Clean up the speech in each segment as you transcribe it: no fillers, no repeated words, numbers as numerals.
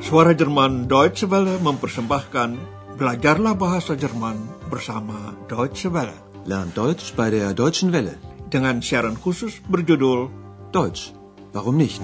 Suara Jerman Deutsche Welle mempersembahkan Belajarlah Bahasa Jerman bersama Deutsche Welle. Lern Deutsch bei der Deutschen Welle. Dengan siaran khusus berjudul Deutsch, warum nicht?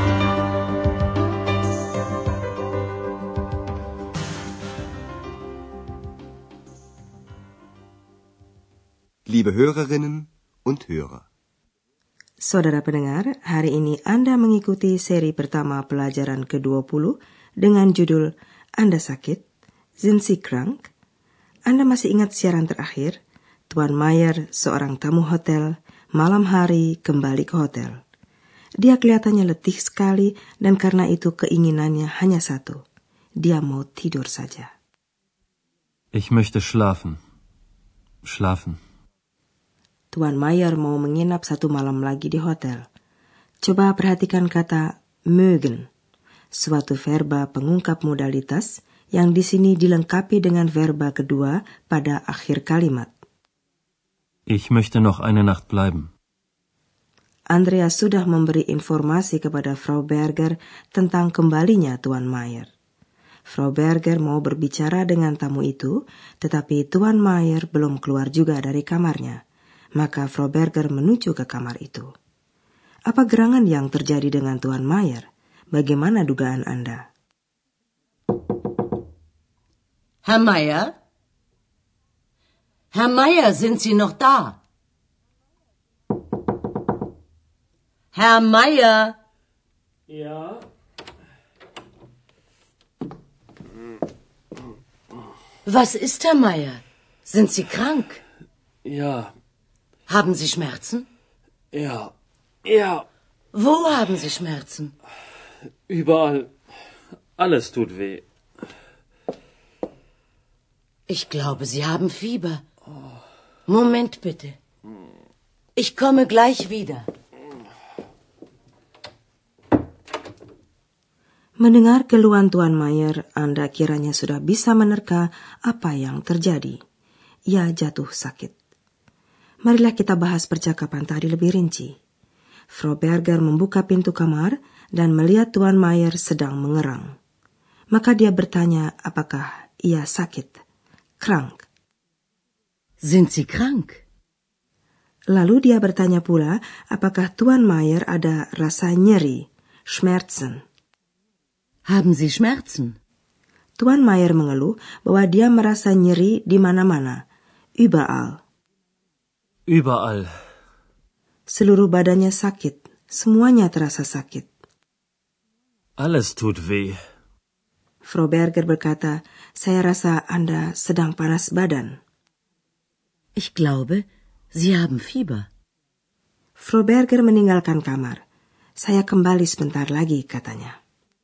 Liebe Hörerinnen und Hörer. Saudara pendengar, hari ini Anda mengikuti seri pertama pelajaran ke-20 dengan judul Anda sakit? Sind Sie krank? Anda masih ingat siaran terakhir? Tuan Mayer, seorang tamu hotel, malam hari kembali ke hotel. Dia kelihatannya letih sekali dan karena itu keinginannya hanya satu. Dia mau tidur saja. Ich möchte schlafen. Schlafen. Tuan Mayer mau menginap satu malam lagi di hotel. Coba perhatikan kata mögen, suatu verba pengungkap modalitas yang di sini dilengkapi dengan verba kedua pada akhir kalimat. Ich möchte noch eine Nacht bleiben. Andreas sudah memberi informasi kepada Frau Berger tentang kembalinya Tuan Mayer. Frau Berger mau berbicara dengan tamu itu, tetapi Tuan Mayer belum keluar juga dari kamarnya. Maka Frau Berger menuju ke kamar itu. Apa gerangan yang terjadi dengan Tuan Mayer? Bagaimana dugaan Anda? Herr Mayer? Herr Mayer, sind Sie noch da? Herr Mayer? Ja? Was ist, Herr Mayer? Sind Sie krank? Ja. Haben Sie Schmerzen? Ja. Ja. Wo haben Sie Schmerzen? Überall. Alles tut weh. Ich glaube, Sie haben Fieber. Moment bitte. Ich komme gleich wieder. Mendengar keluhan Tuan Mayer, Anda kiranya sudah bisa menerka apa yang terjadi. Ia jatuh sakit. Marilah kita bahas percakapan tadi lebih rinci. Frau Berger membuka pintu kamar dan melihat Tuan Mayer sedang mengerang. Maka dia bertanya apakah ia sakit. Krank. Sind Sie krank? Lalu dia bertanya pula apakah Tuan Mayer ada rasa nyeri, Schmerzen. Haben Sie Schmerzen? Tuan Mayer mengeluh bahwa dia merasa nyeri di mana-mana, überall. Überall. Seluruh badannya sakit, semuanya terasa sakit. Alles tut weh. Frau Berger berkata, saya rasa Anda sedang panas badan. Ich glaube, Sie haben Fieber. Frau Berger meninggalkan kamar. Saya kembali sebentar lagi, katanya.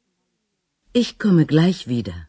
Ich komme gleich wieder.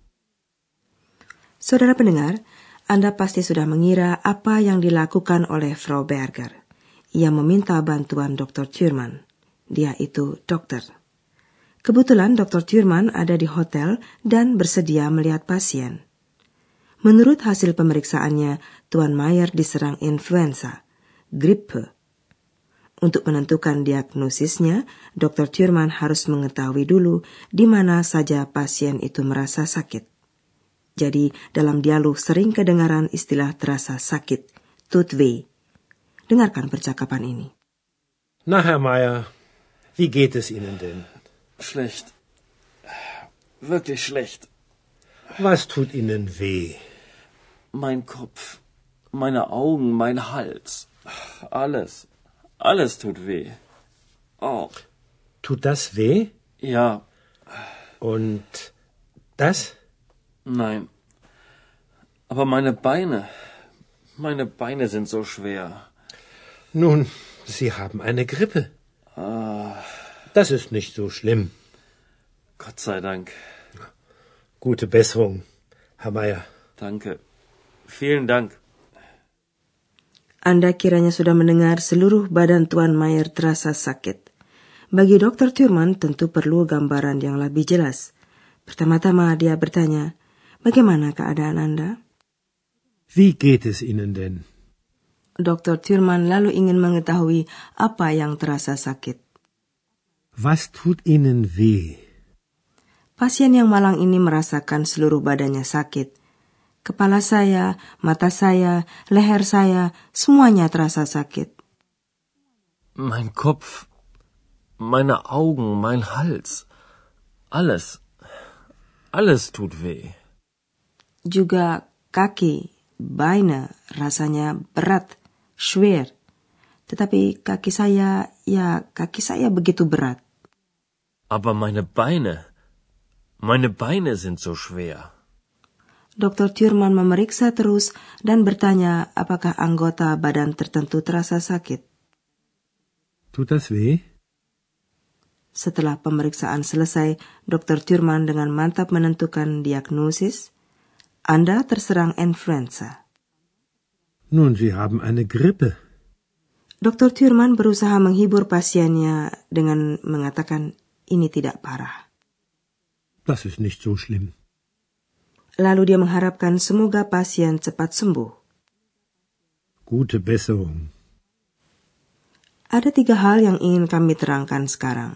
Saudara pendengar, Anda pasti sudah mengira apa yang dilakukan oleh Frau Berger. Ia meminta bantuan Dr. Thurman. Dia itu dokter. Kebetulan Dr. Thurman ada di hotel dan bersedia melihat pasien. Menurut hasil pemeriksaannya, Tuan Mayer diserang influenza, grippe. Untuk menentukan diagnosisnya, Dr. Thurman harus mengetahui dulu di mana saja pasien itu merasa sakit. Jadi, dalam dialog sering kedengaran istilah terasa sakit, tut weh. Dengarkan percakapan ini. Na, Herr Mayer, wie geht es Ihnen denn? Schlecht. Wirklich schlecht. Was tut Ihnen weh? Mein Kopf, meine Augen, mein Hals. Alles. Alles tut weh. Oh. Tut das weh? Ja. Und das? Nein. Aber meine Beine sind so schwer. Nun, Sie haben eine Grippe. Das ist nicht so schlimm. Gott sei Dank. Gute Besserung, Herr Mayer. Danke. Vielen Dank. Anda kiranya sudah mendengar seluruh badan Tuan Mayer terasa sakit. Bagi Dr. Thurman tentu perlu gambaran yang lebih jelas. Pertama-tama dia bertanya, bagaimana keadaan Anda? Wie geht es Ihnen denn? Dr. Thurman lalu ingin mengetahui apa yang terasa sakit. Was tut Ihnen weh? Pasien yang malang ini merasakan seluruh badannya sakit. Kepala saya, mata saya, leher saya, semuanya terasa sakit. Mein Kopf, meine Augen, mein Hals. Alles tut weh. Juga kaki, Beine, rasanya berat, schwer. Tetapi kaki saya begitu berat. Aber meine Beine sind so schwer. Dr. Thurman memeriksa terus dan bertanya apakah anggota badan tertentu terasa sakit. Tut das weh? Setelah pemeriksaan selesai, Dr. Thurman dengan mantap menentukan diagnosis, Anda terserang influenza. Nun, Sie haben eine Grippe. Dr. Thurman berusaha menghibur pasiennya dengan mengatakan ini tidak parah. Das ist nicht so schlimm. Lalu dia mengharapkan semoga pasien cepat sembuh. Gute Besserung. Ada 3 hal yang ingin kami terangkan sekarang.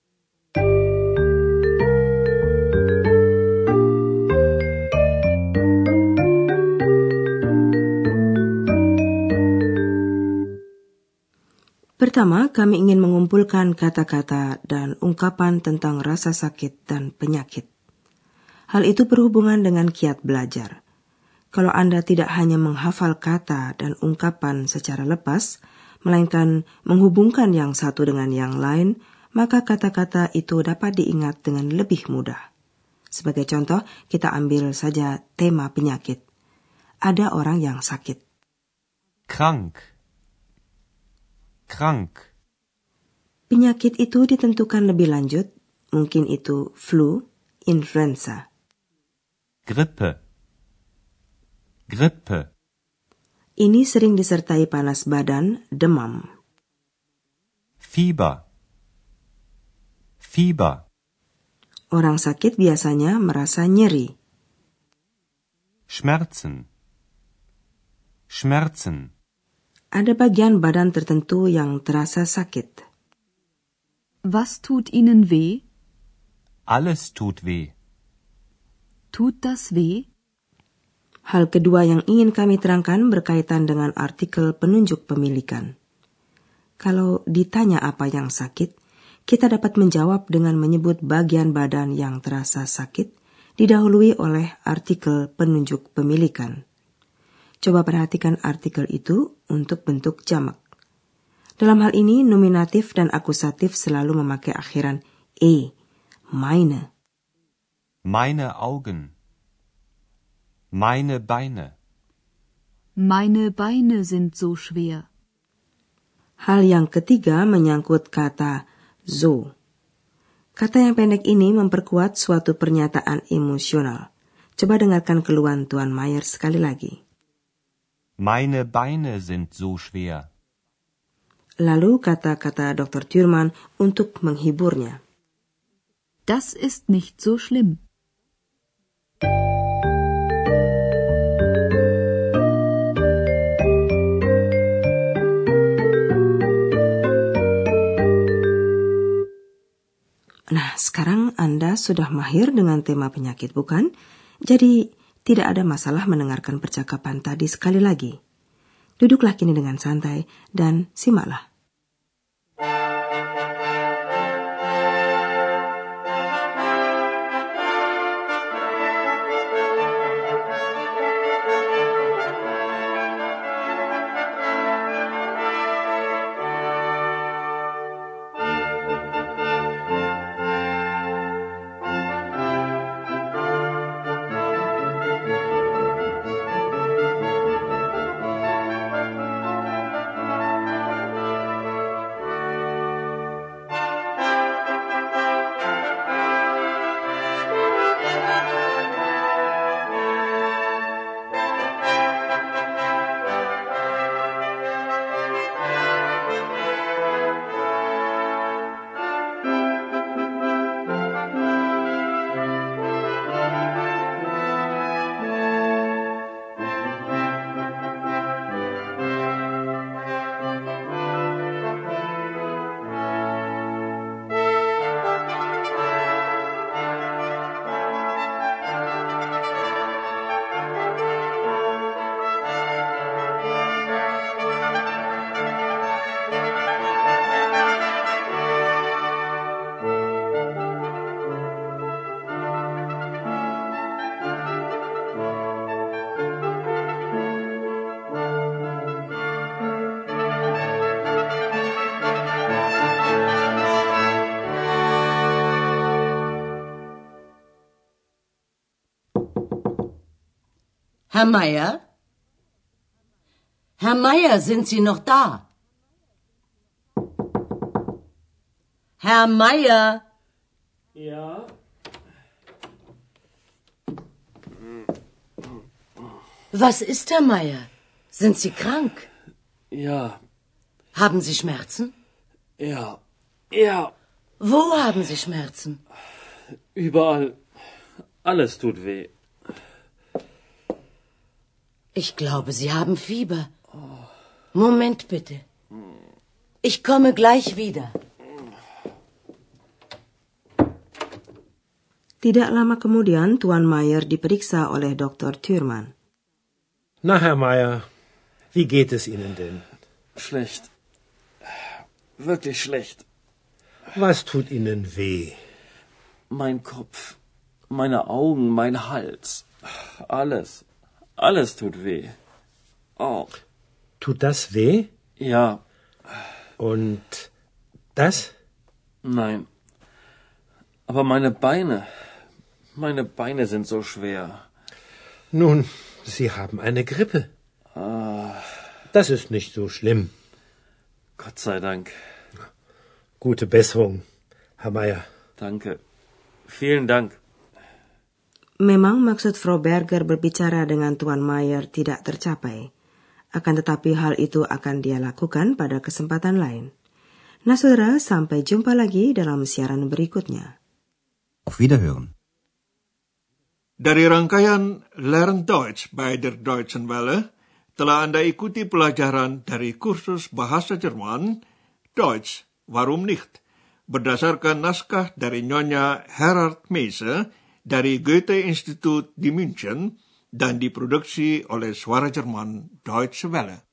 Pertama, kami ingin mengumpulkan kata-kata dan ungkapan tentang rasa sakit dan penyakit. Hal itu berhubungan dengan kiat belajar. Kalau Anda tidak hanya menghafal kata dan ungkapan secara lepas, melainkan menghubungkan yang satu dengan yang lain, maka kata-kata itu dapat diingat dengan lebih mudah. Sebagai contoh, kita ambil saja tema penyakit. Ada orang yang sakit. Krank. Penyakit itu ditentukan lebih lanjut, mungkin itu flu, influenza. Grippe. Ini sering disertai panas badan, demam. Fieber. Orang sakit biasanya merasa nyeri. Schmerzen. Ada bagian badan tertentu yang terasa sakit. Was tut Ihnen weh? Alles tut weh. Tut das weh? Hal kedua yang ingin kami terangkan berkaitan dengan artikel penunjuk pemilikan. Kalau ditanya apa yang sakit, kita dapat menjawab dengan menyebut bagian badan yang terasa sakit, didahului oleh artikel penunjuk pemilikan. Coba perhatikan artikel itu untuk bentuk jamak. Dalam hal ini, nominatif dan akusatif selalu memakai akhiran e, meine. Meine Augen. Meine Beine. Meine Beine sind so schwer. Hal yang ketiga menyangkut kata so. Kata yang pendek ini memperkuat suatu pernyataan emosional. Coba dengarkan keluhan Tuan Mayer sekali lagi. Meine Beine sind so schwer. Lalu kata-kata Dr. Thurman untuk menghiburnya. Das ist nicht so schlimm. Nah, sekarang Anda sudah mahir dengan tema penyakit, bukan? Jadi, tidak ada masalah mendengarkan percakapan tadi sekali lagi. Duduklah kini dengan santai dan simaklah. Herr Meier? Herr Meier, sind Sie noch da? Herr Meier? Ja? Was ist, Herr Meier? Sind Sie krank? Ja. Haben Sie Schmerzen? Ja. Ja. Wo haben Sie Schmerzen? Überall. Alles tut weh. Ich glaube, Sie haben Fieber. Moment bitte. Ich komme gleich wieder. Tidak lama kemudian, Tuan Mayer diperiksa oleh Dr. Thürmann. Na, Herr Meier, wie geht es Ihnen denn? Schlecht. Wirklich schlecht. Was tut Ihnen weh? Mein Kopf, meine Augen, mein Hals. Alles. Alles tut weh. Oh. Tut das weh? Ja. Und das? Nein. Aber meine Beine sind so schwer. Nun, Sie haben eine Grippe. Das ist nicht so schlimm. Gott sei Dank. Gute Besserung, Herr Meier. Danke. Vielen Dank. Memang maksud Frau Berger berbicara dengan Tuan Mayer tidak tercapai. Akan tetapi hal itu akan dia lakukan pada kesempatan lain. Nah, saudara, sampai jumpa lagi dalam siaran berikutnya. Auf Wiederhören. Dari rangkaian Lern Deutsch bei der Deutschen Welle, telah Anda ikuti pelajaran dari kursus bahasa Jerman, Deutsch, warum nicht? Berdasarkan naskah dari Nyonya Gerhard Meise dari Goethe-Institut di München dan diproduksi oleh Suara Jerman Deutsche Welle.